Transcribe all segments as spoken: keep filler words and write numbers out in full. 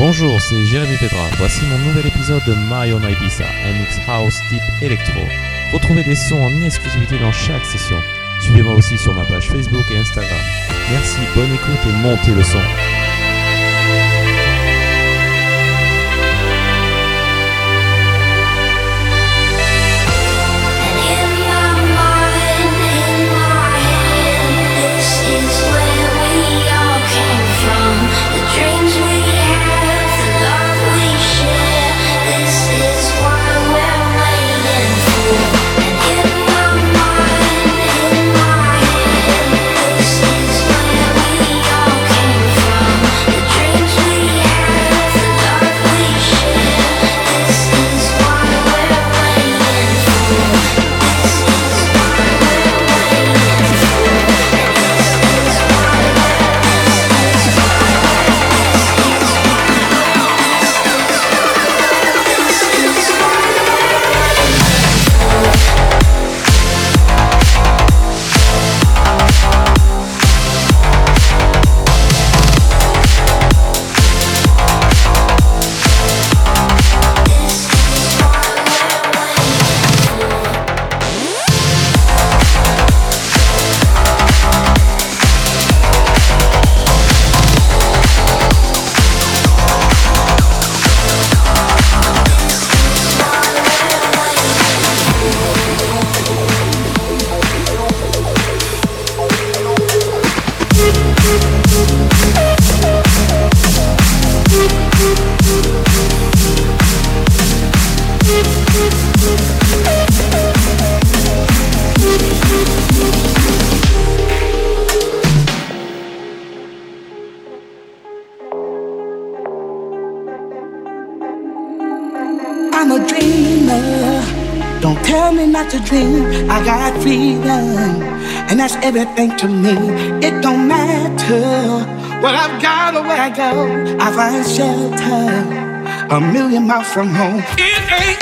Bonjour, c'est Jérémy Pedra. Voici mon nouvel épisode de My Own Ibiza, un mix house type électro. Retrouvez des sons en exclusivité dans chaque session. Suivez-moi aussi sur ma page Facebook et Instagram. Merci, bonne écoute et montez le son. To dream, I got freedom, and that's everything to me. It don't matter what I've got or where I go, I find shelter a million miles from home. It ain't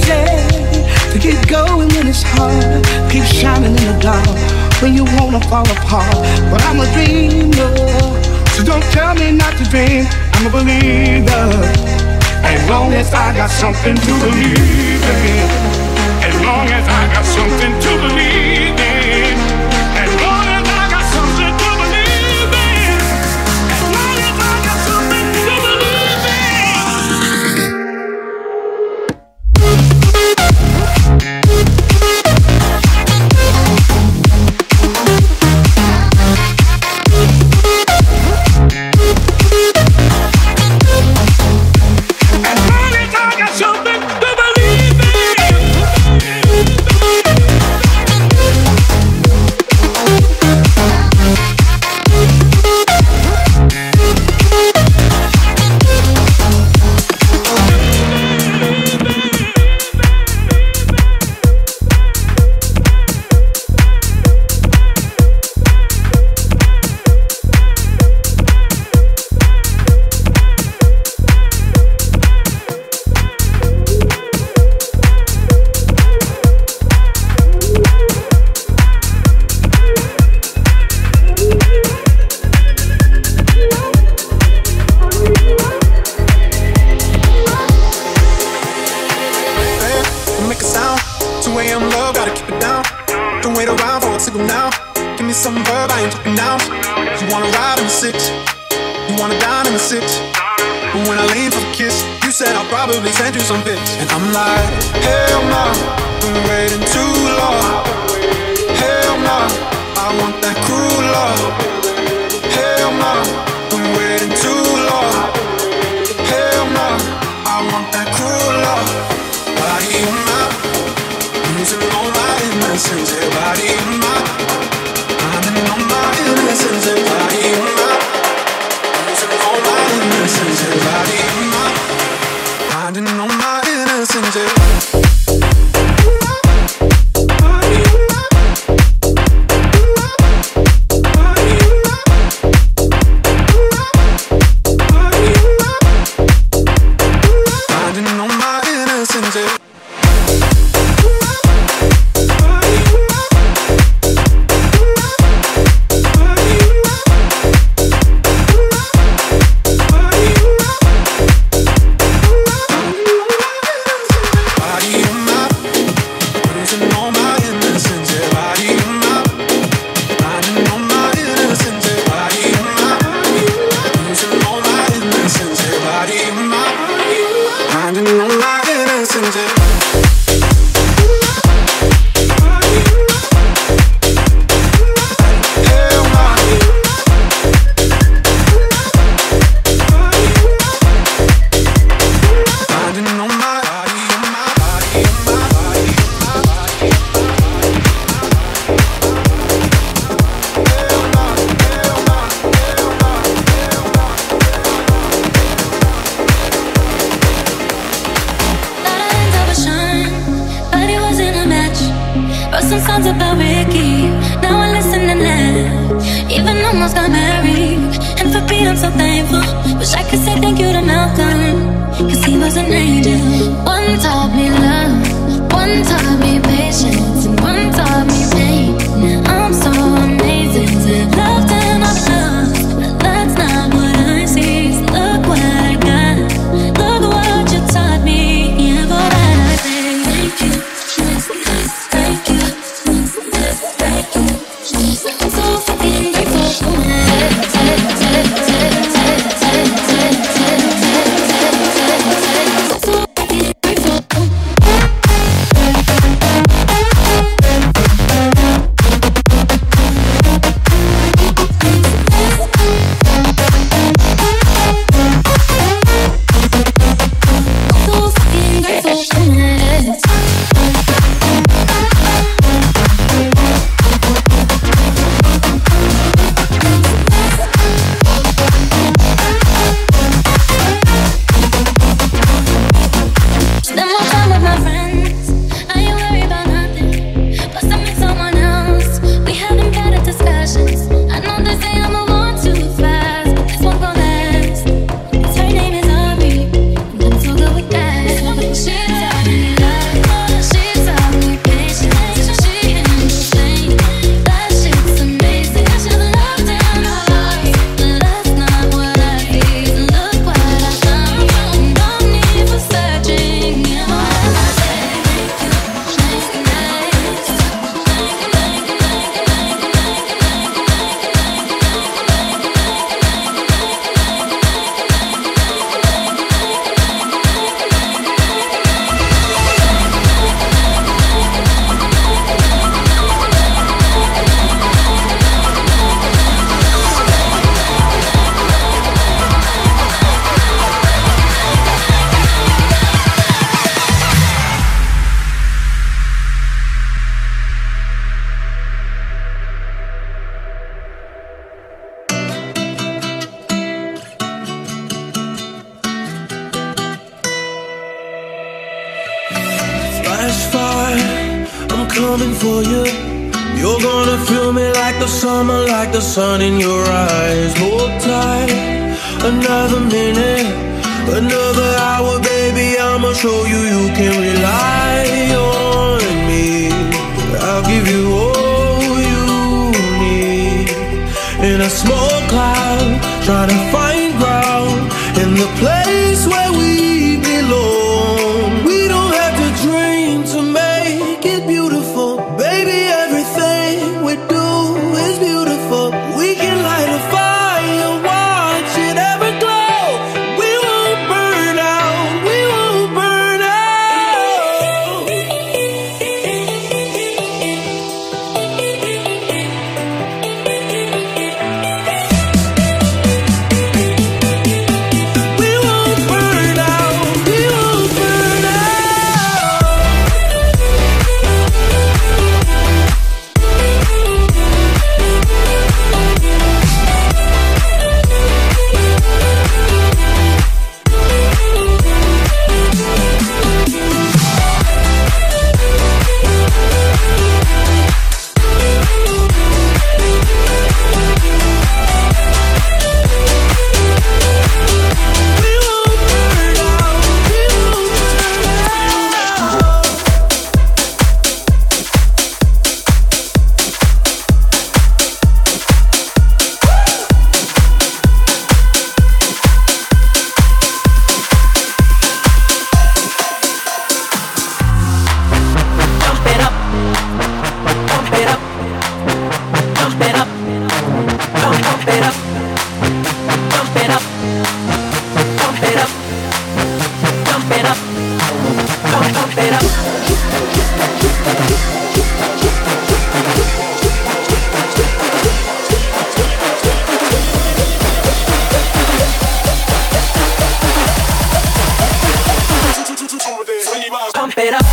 easy to keep going when it's hard, keep shining in the dark when you wanna fall apart. But I'm a dreamer, so don't tell me not to dream. I'm a believer, as long as I got something to believe in. As long as I got something to believe in. As long as I got something to believe in. As long as I got something to believe As long as I got something to believe in. Send you some pics, and I'm like, hell no, been waiting too long. Hell no, I want that cruel love. Hell no, been waiting too long. Hell no, I want that cruel love. Body on my, losing all my innocence. Yeah, body on my, finding all my innocence. Yeah, body on my, losing all my innocence. Yeah, body on my. Finding all my innocence, yeah. Body, body, body, I'm so thankful. Wish I could say thank you to Malcolm, cause he was an angel. One taught me love, one taught me patience, and one taught me pain. Now I'm so amazing to have loved and I've loved, but that's not what I see. So look what I got, look what you taught me. Yeah, for that I say thank you, thank you, thank you. I'm so fucking grateful for my sun in your eyes, hold tight. Another minute, another hour, baby, I'ma show you you can rely on me. I'll give you all you need. In a small cloud, trying to find ground in the place where we belong. We don't have to dream to make it beautiful, baby, everything we do is beautiful. We can light a fire, watch it ever glow. We won't burn out, we won't burn out. We won't burn out, we won't burn out. Pump it up.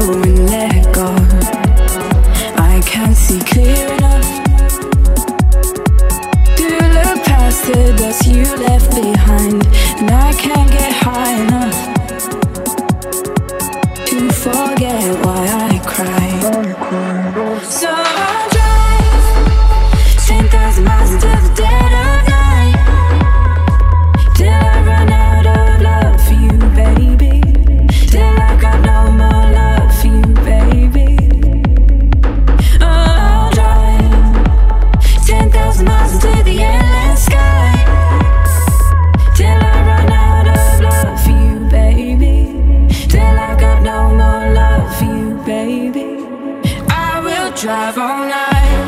and let go. I can't see clear enough to look past the dust you left behind, and I can't get high enough to forget why I cried. So I'll drive ten thousand miles into the dead of night till I run out of love for you, baby. Till I got no more love for you, baby. Oh, I'll drive ten thousand miles into the endless sky till I run out of love for you, baby. Till I got no more love for you, baby. I will drive all night.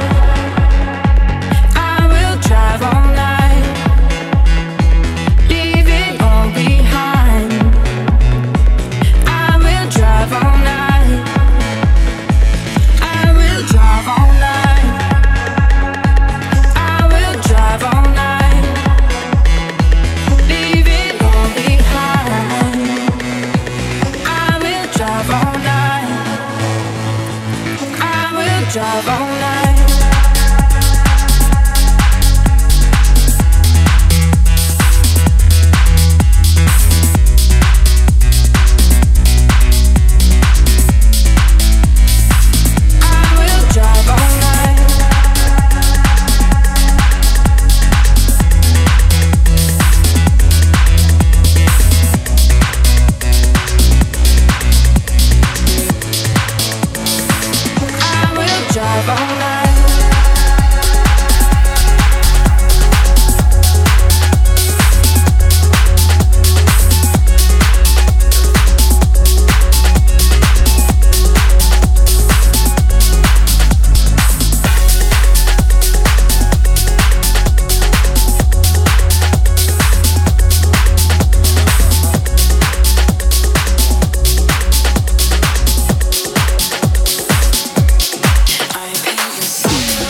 I will drive all night. Leave it all behind. I will drive all night. I will drive all night. I will drive all night. Leave it all behind. I will drive all night. I will drive all night. I will drive all night. I will drive all night. I paint a scene.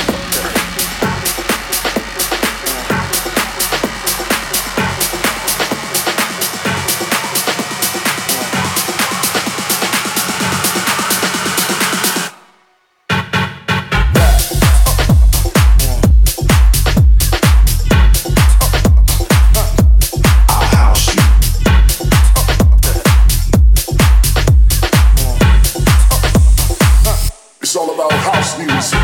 It's all about house music.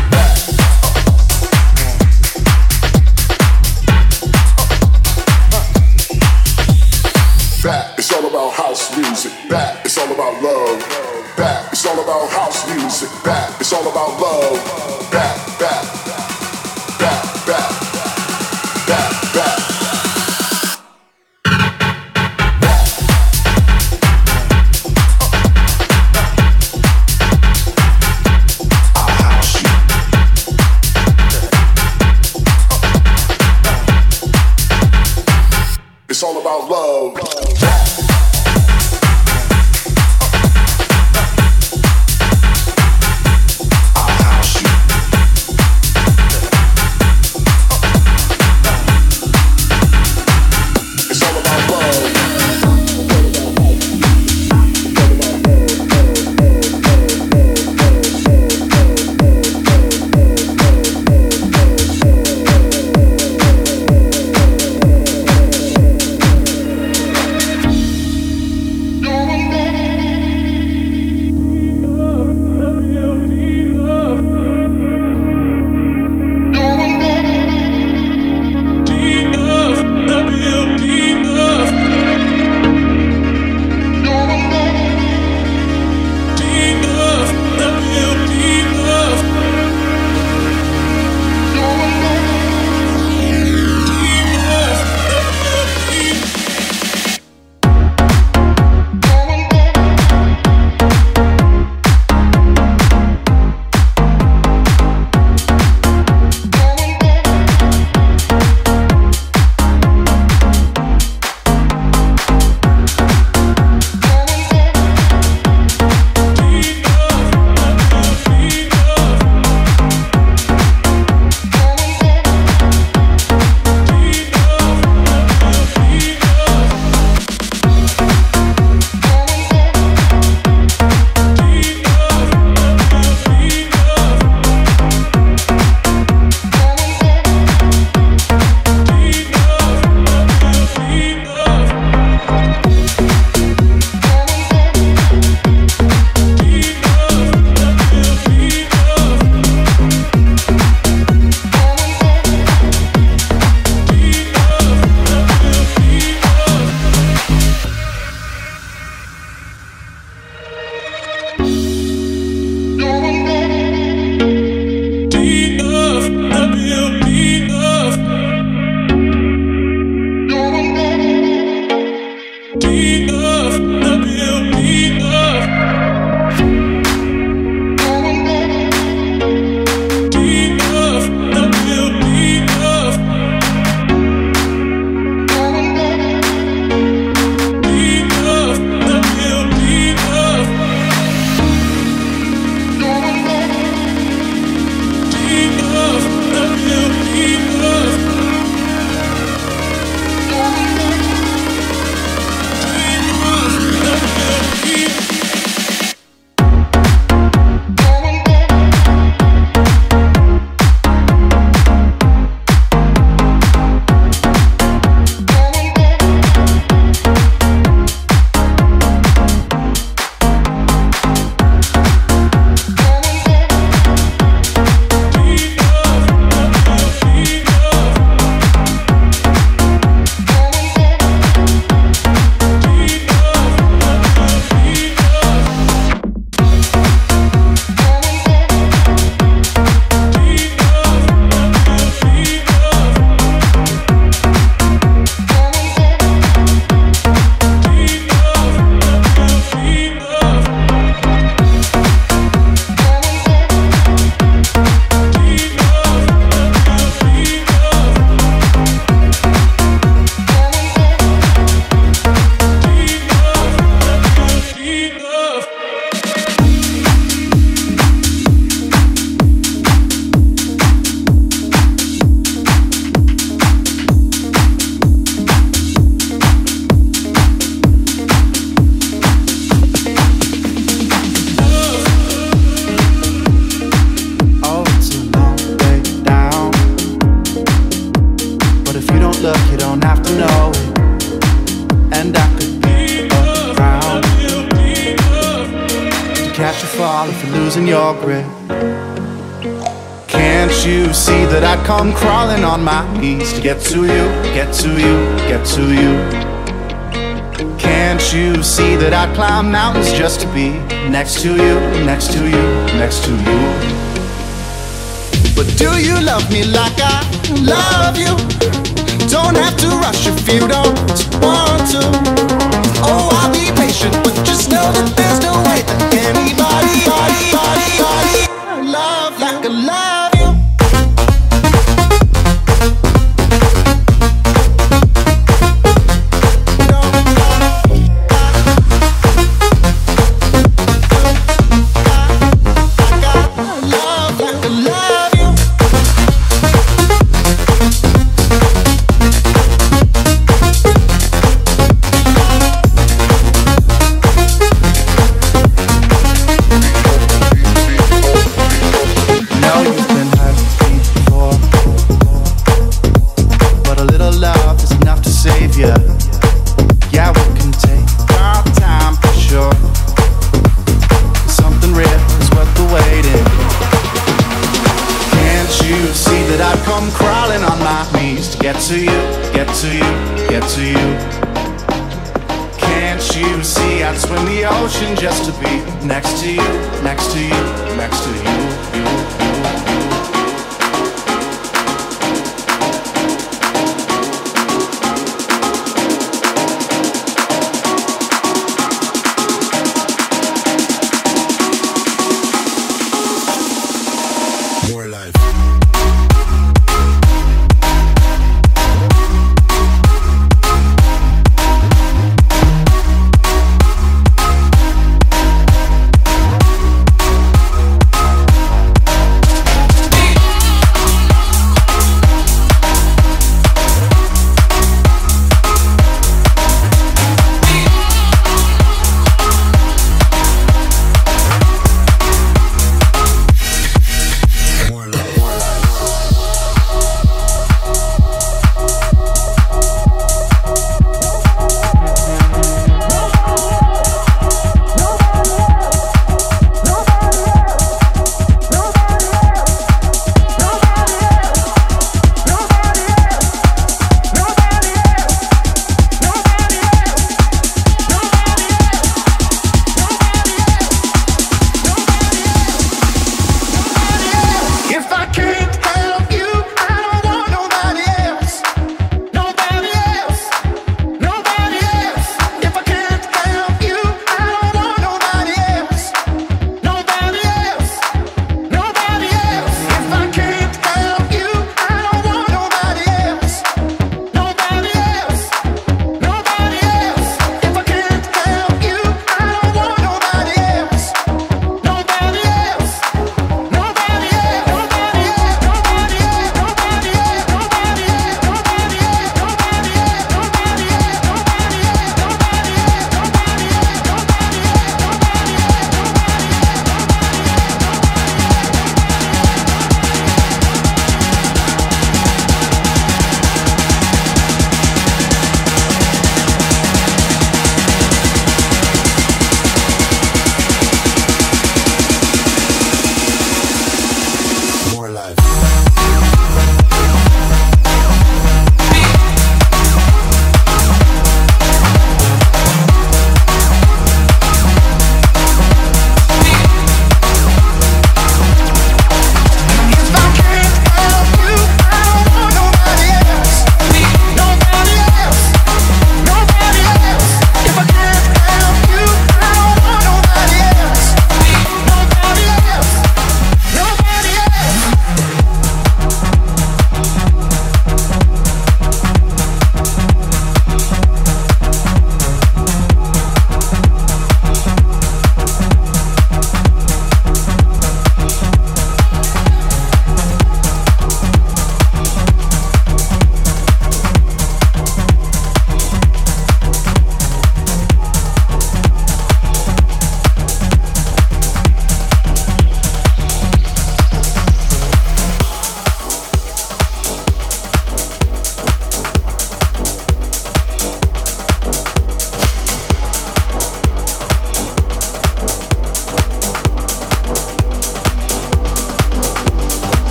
Back, it's all about house music. Back, it's all about love. Back, it's all about house music. Back, it's all about love. Back, back, back, back, back, back. It's all about love. I'll house you. catch a fall if you're losing your grip. Can't you see that I'd come crawling on my knees to get to you, get to you, get to you? Can't you see that I'd climb mountains just to be next to you, next to you, next to you? But do you love me like I love you? Don't have to rush if you don't want to. Oh, I'll be patient, but just know that there's no way that anybody, body, body, body, love like I love you. Just to be next to you, next to you, next to you, you, you.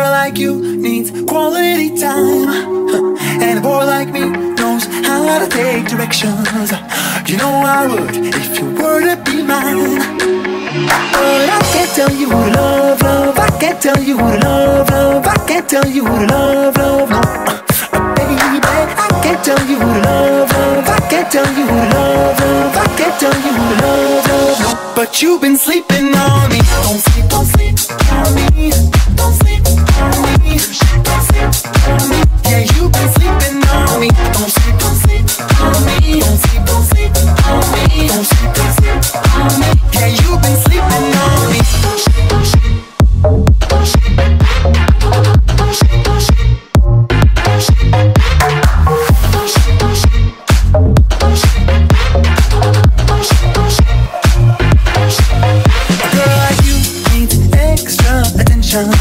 girl like you needs quality time, and a boy like me knows how to take directions. You know I would if you were to be mine. But I can't tell you who to love, love. I can't tell you who to love, love. I can't tell you who to love, love. No, uh, baby, I can't tell you who to love, love. I can't tell you who to love, love. I can't tell you who to love, love. No, but you've been sleeping on me. Don't sleep, don't sleep on me. Don't sleep on me. Don't sleep on me. Yeah, you've been sleeping on me. Don't sleep, don't sleep on me. Don't sleep, don't sleep on me. Don't sleep, don't sleep on me. Yeah, you've been sleeping on me. Don't sleep, don't sleep. Don't sleep, don't sleep, don't sleep. Don't sleep, don't sleep, don't sleep. Don't sleep, don't sleep, don't sleep. A girl like you needs extra attention,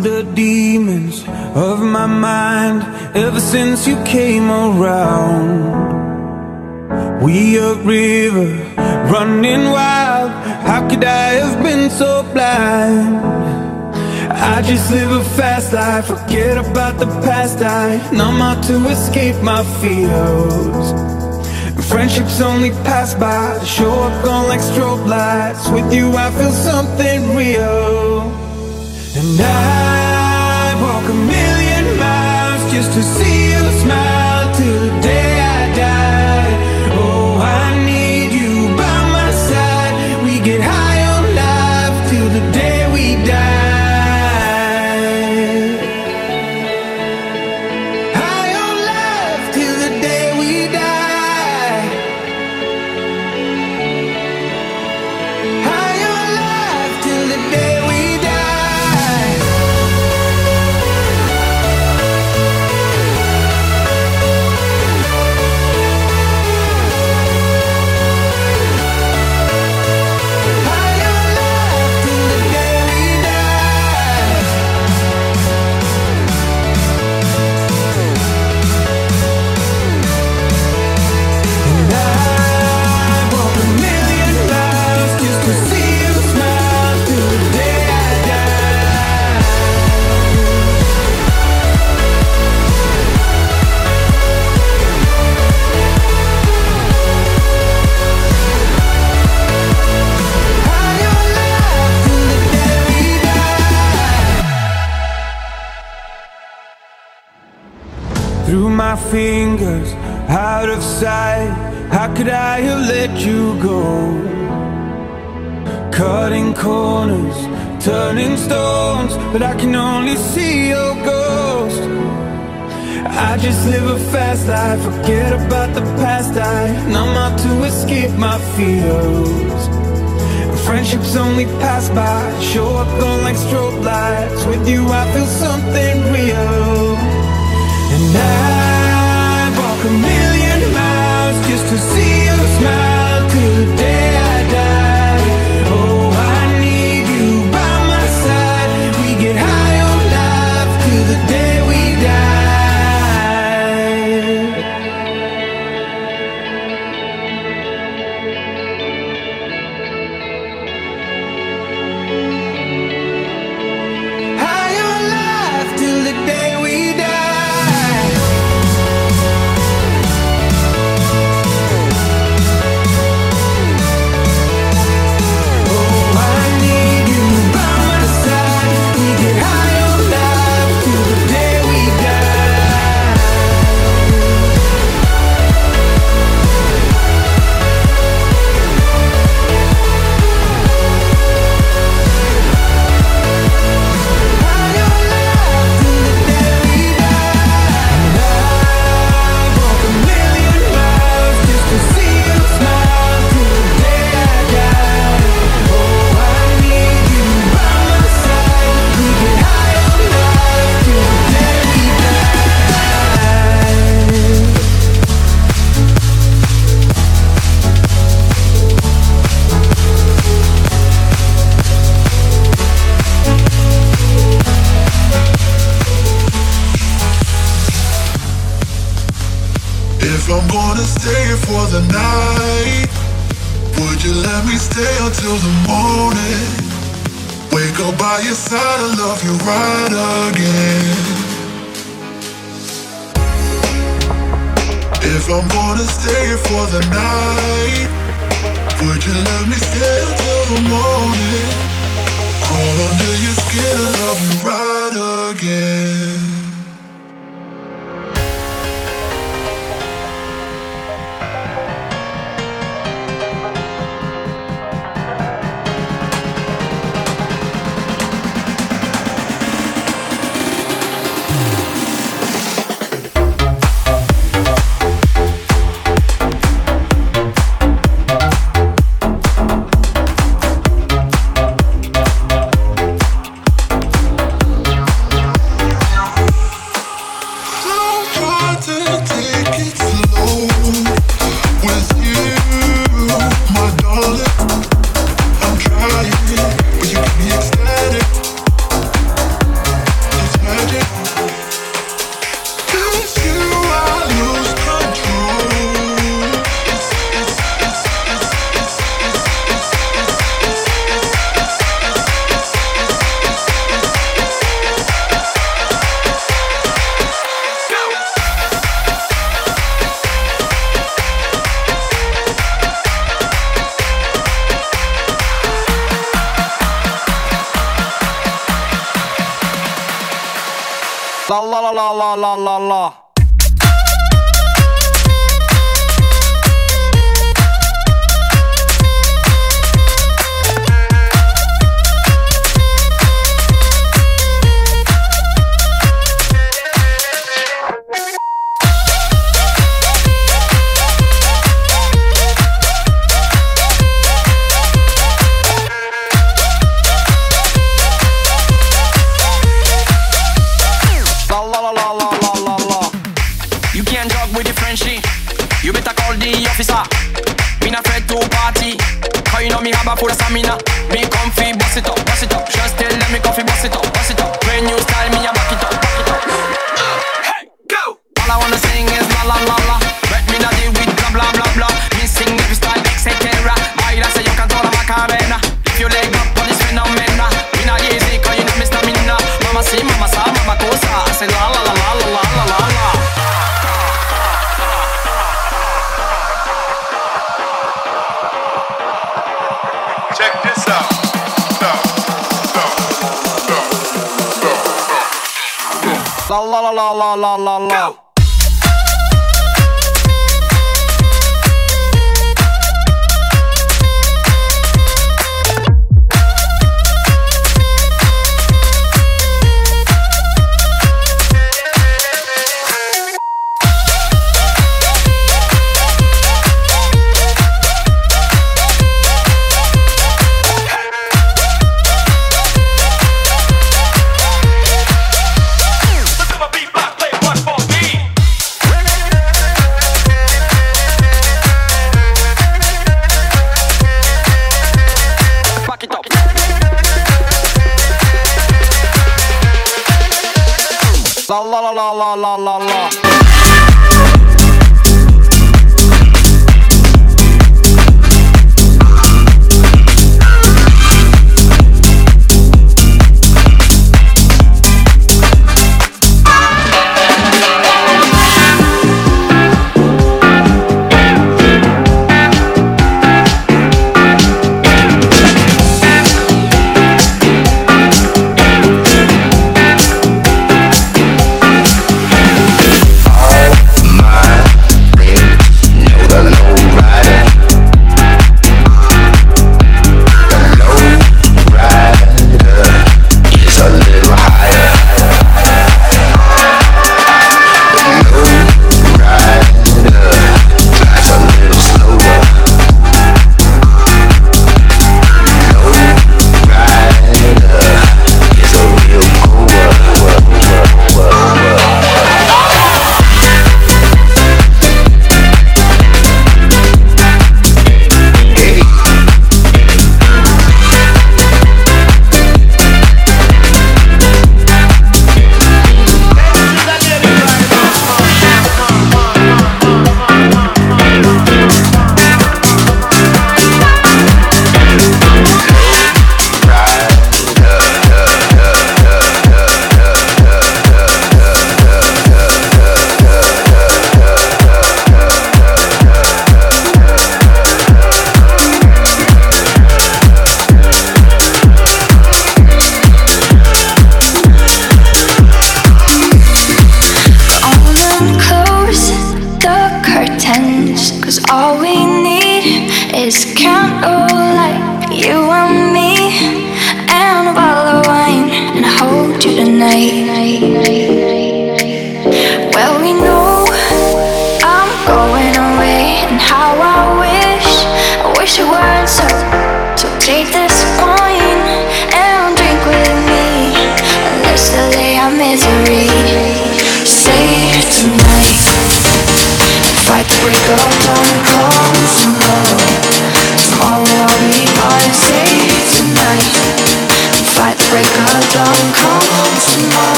killed the demons of my mind ever since you came around. We a river running wild. How could I have been so blind? I just live a fast life, forget about the past. I numb out to escape my fears. Friendships only pass by, show up gone like strobe lights. With you I feel something real. And I walk a million miles just to see you smile till the day I die. Oh, I need you by my side. We get high on life till the day we die. High on life till the day we die. High on life till the day we die. High on life till the day we die. And I walk a million miles just to see you smile till the day I die. High on life till the day we die. Through my fingers, out of sight. How could I have let you go? Cutting corners, turning stones, but I can only see your ghost. I just live a fast life, forget about the past. I numb out to escape my fears. Friendships only pass by, show up gone like strobe lights. With you I feel something real. And I walk a million miles just to see you smile till the day I die. Oh, I need you by my side. We get high on life till the day we die. High on life till the day we die. Oh, I need you by my side. We get high on life till the day we die. High on life till the day we die. And I walk a million miles just to see you smile till the day I die. Oh, I need you by my side. We get high on life till the day we die. If I'm gonna stay for the night, would you let me stay until the morning? Wake up by your side and love you right again. If I'm gonna stay for the night, would you let me stay until the morning? Crawl under your skin and love you right again. La la la la la la la la. You better call the officer. Me not afraid to party, cause you know me have a full stamina. Me comfy, bust it up, bust it up. Just tell them me comfy, bust it up, bust it up. When you style me, I back it up, back it up. Hey, go! All I wanna sing is la la la la. Let me not deal with blah blah blah blah. Me sing every style, et cetera. Baila say you control my cabana. If you leg up on this phenomena, me not easy, cause you know me stamina. Mama see, mama sa, mama cosa. I say la la la la la la la la. Check this out. La la la la la la la la. La la la la la la la la.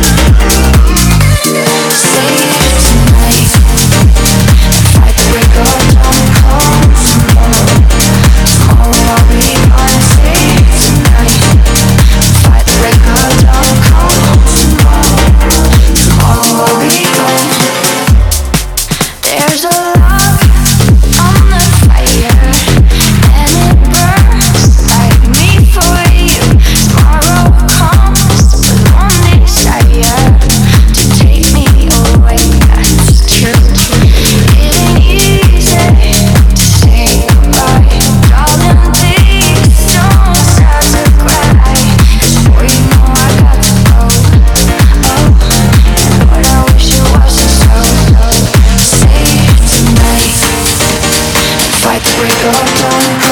Break up. There's a love on the fire, and it burns like me for you. Tomorrow comes with one desire to take me away. That's true. It ain't easy to say goodbye, darling. Please don't start to cry. 'Cause boy, you know I got to go. Oh, and Lord, I wish it wasn't so. So say it tonight and fight the break of dawn.